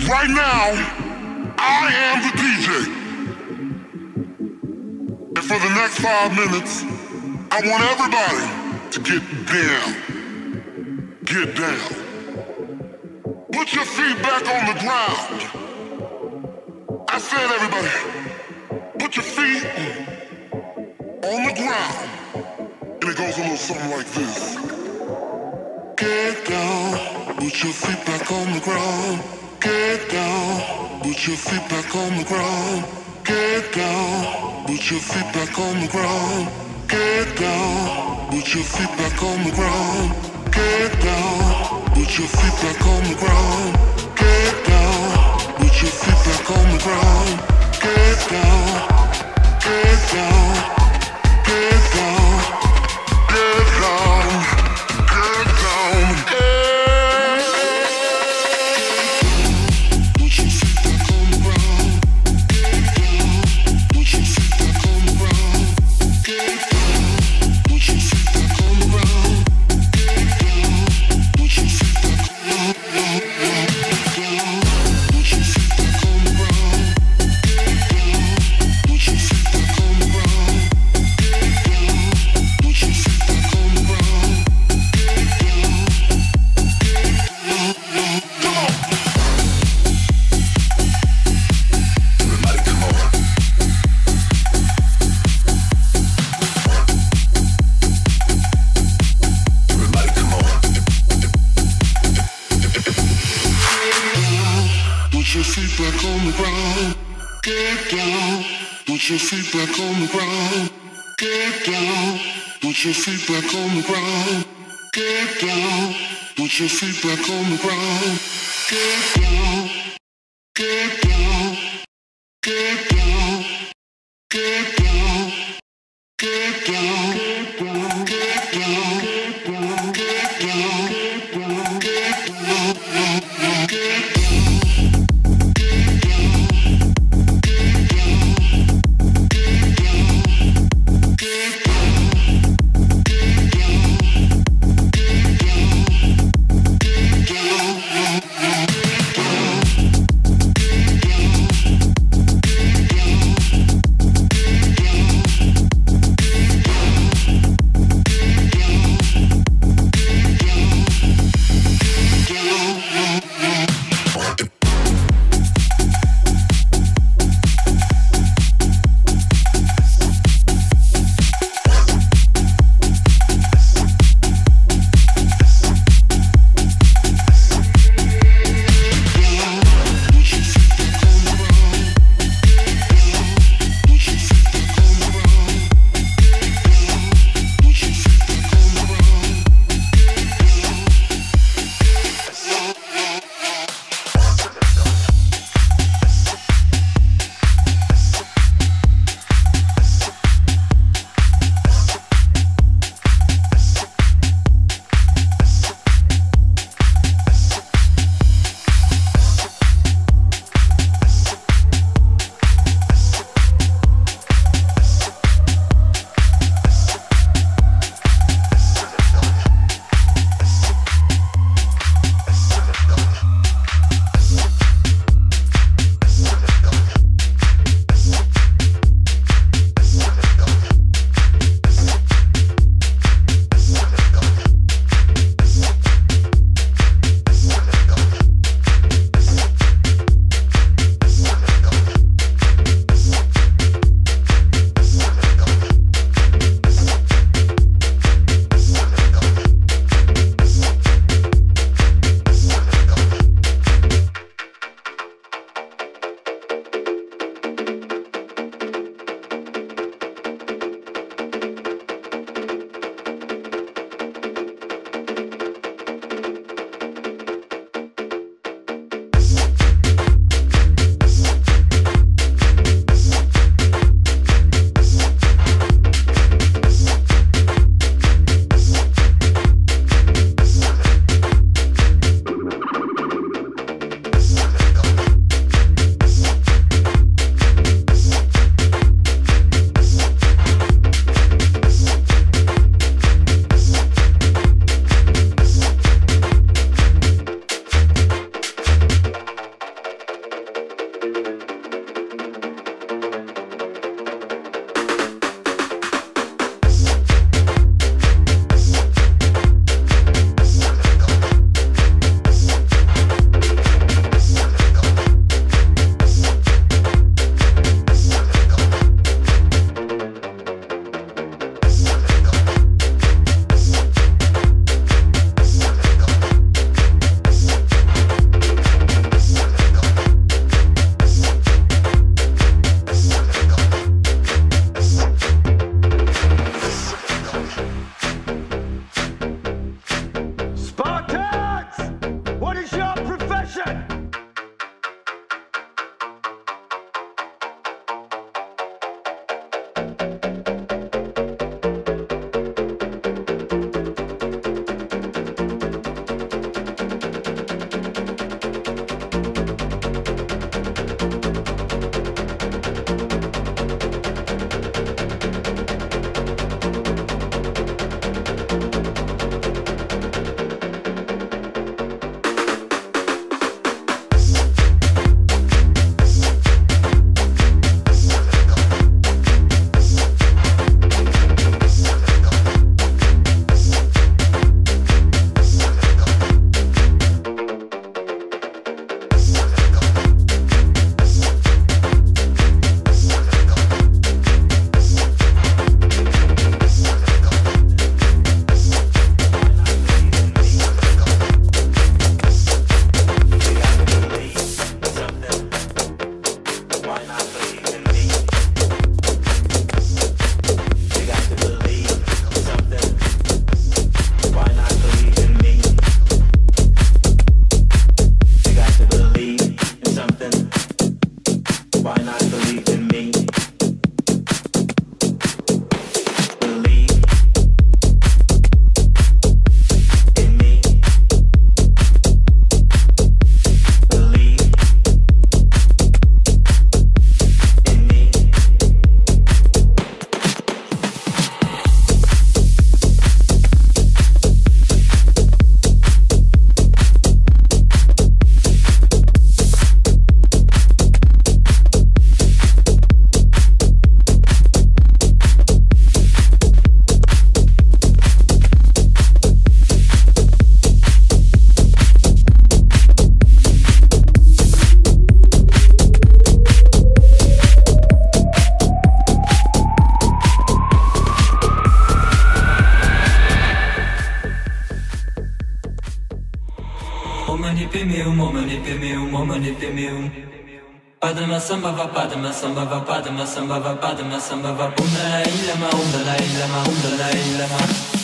Right now, I am the DJ. And for the next 5 minutes, I want everybody to get down. Get down. Put your feet back on the ground. I said, everybody, put your feet on the ground. And it goes a little something like this. Get down, put your feet back on the ground. Get down, put your feet back on the ground. Get down, put your feet back on the ground. Get down, put your feet back on the ground. Get down, put your feet back on the ground. Get down, put your feet back on the ground. Get down, get down, get down, get down, get down. Put your feet back on the ground. Get down, put your feet back on the ground. Get down, put your feet back on the ground. Get down, put your feet back on the ground. Put your feet back on the ground. Get down, put your feet back on the ground. Get down, put your feet back on the ground. Get down, come on. Everybody come on. Everybody come on. Put your feet back on the ground. Get down. Put your feet back on the ground. Get down. Put your feet back on the ground. Get down. Put your feet back on the ground. Get down. Get down. Get down. Get down. Get down. Get down. Get down. Get down. Get down. Get down. Padma samba va padma samba va padma samba va padma samba va umla ilama umla ilama umla ilama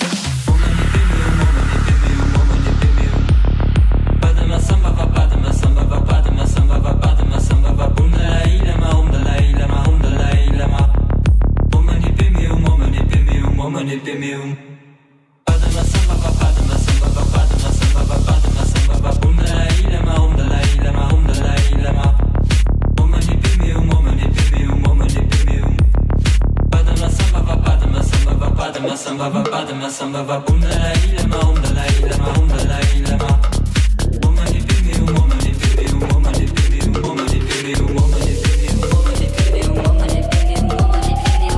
padma samba va padma samba va padma samba va padma samba va umla ilama umla ilama umla ilama umani pemium umani pemium padma samba va padma samba va padma samba va padma samba va umla ilama umla ilama umla ilama Samba va padma samba va bum la ilama la ilama la ilama Omani bimi omani bimi omani bimi omani bimi omani bimi omani bimi omani bimi omani bimi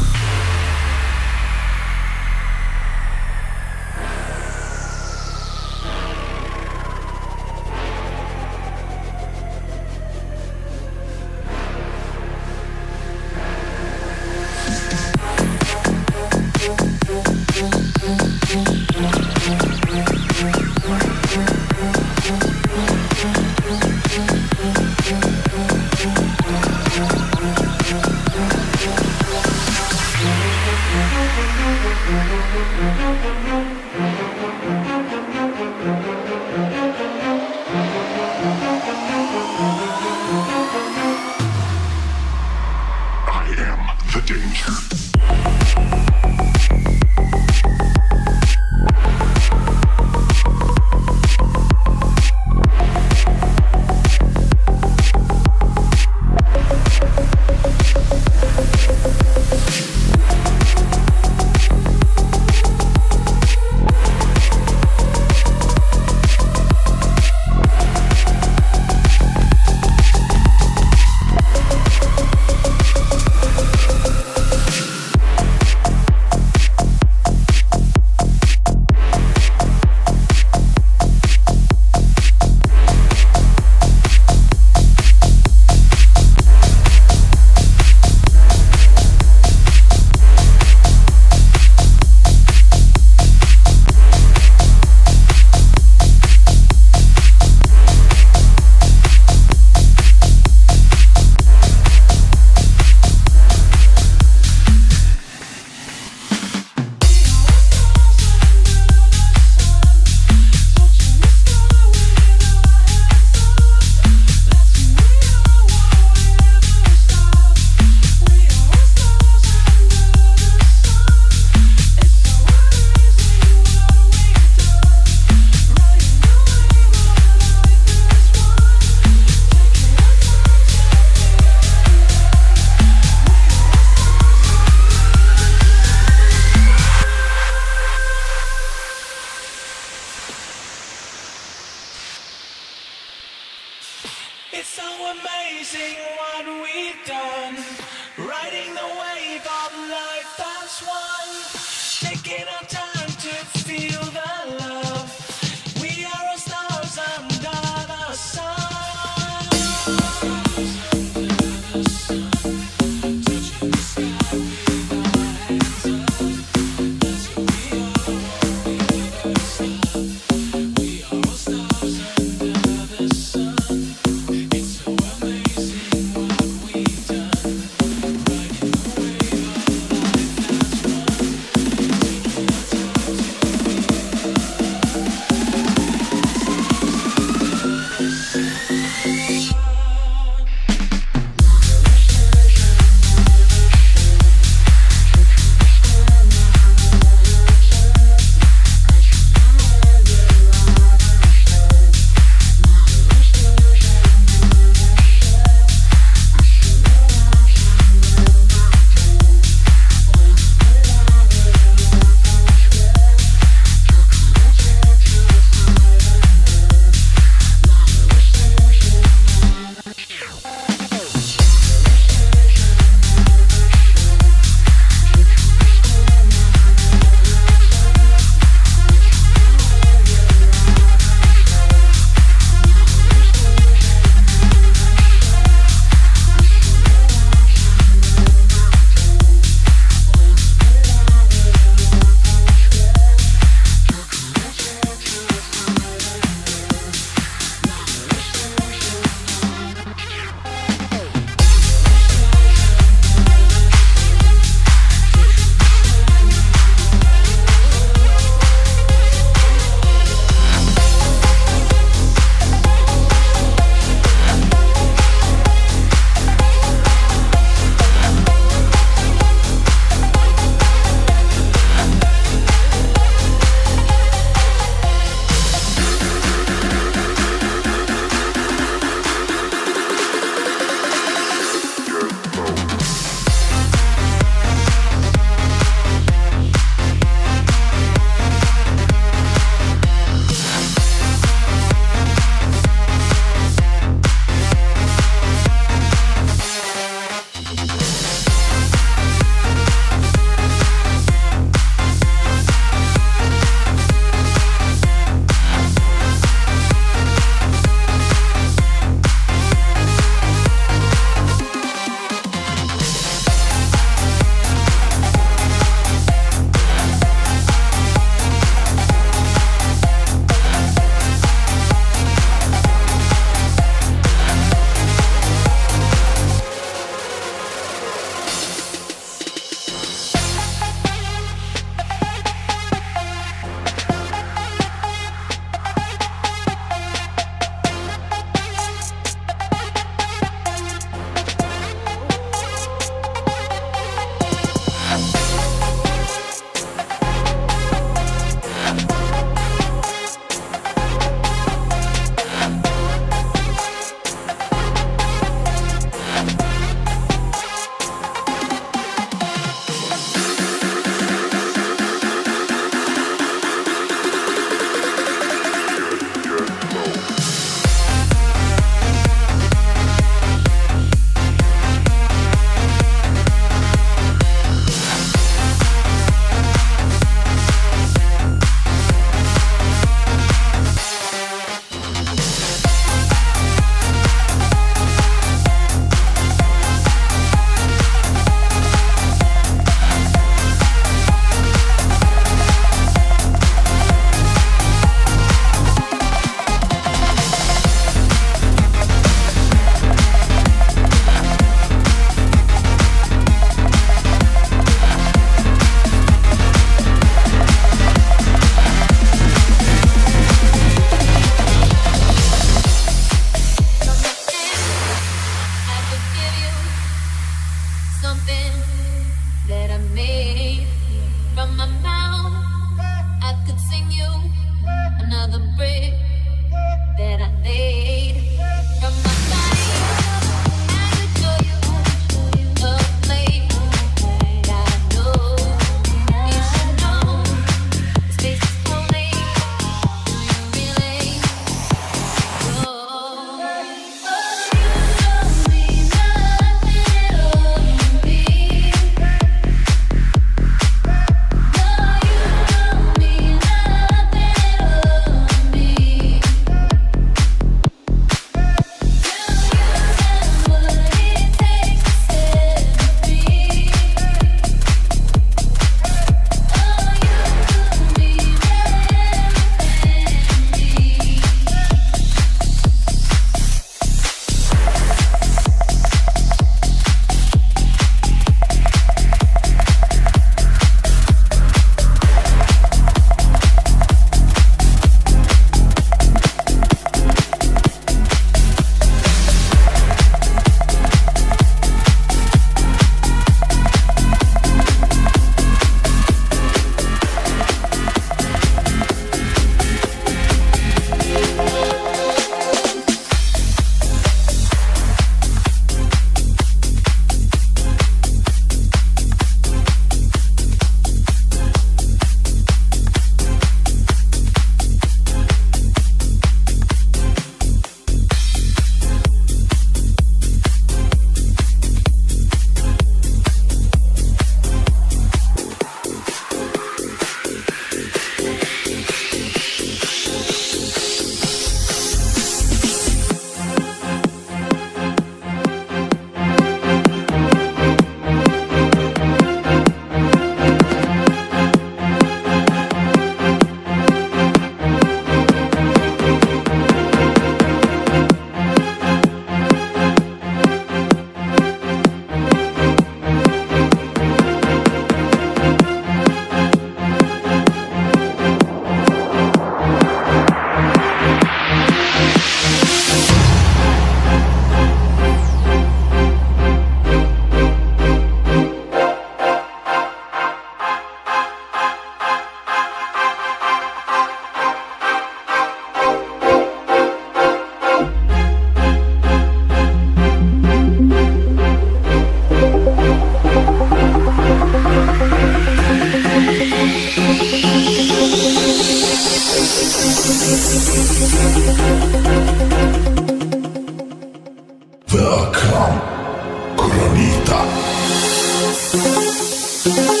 Bye.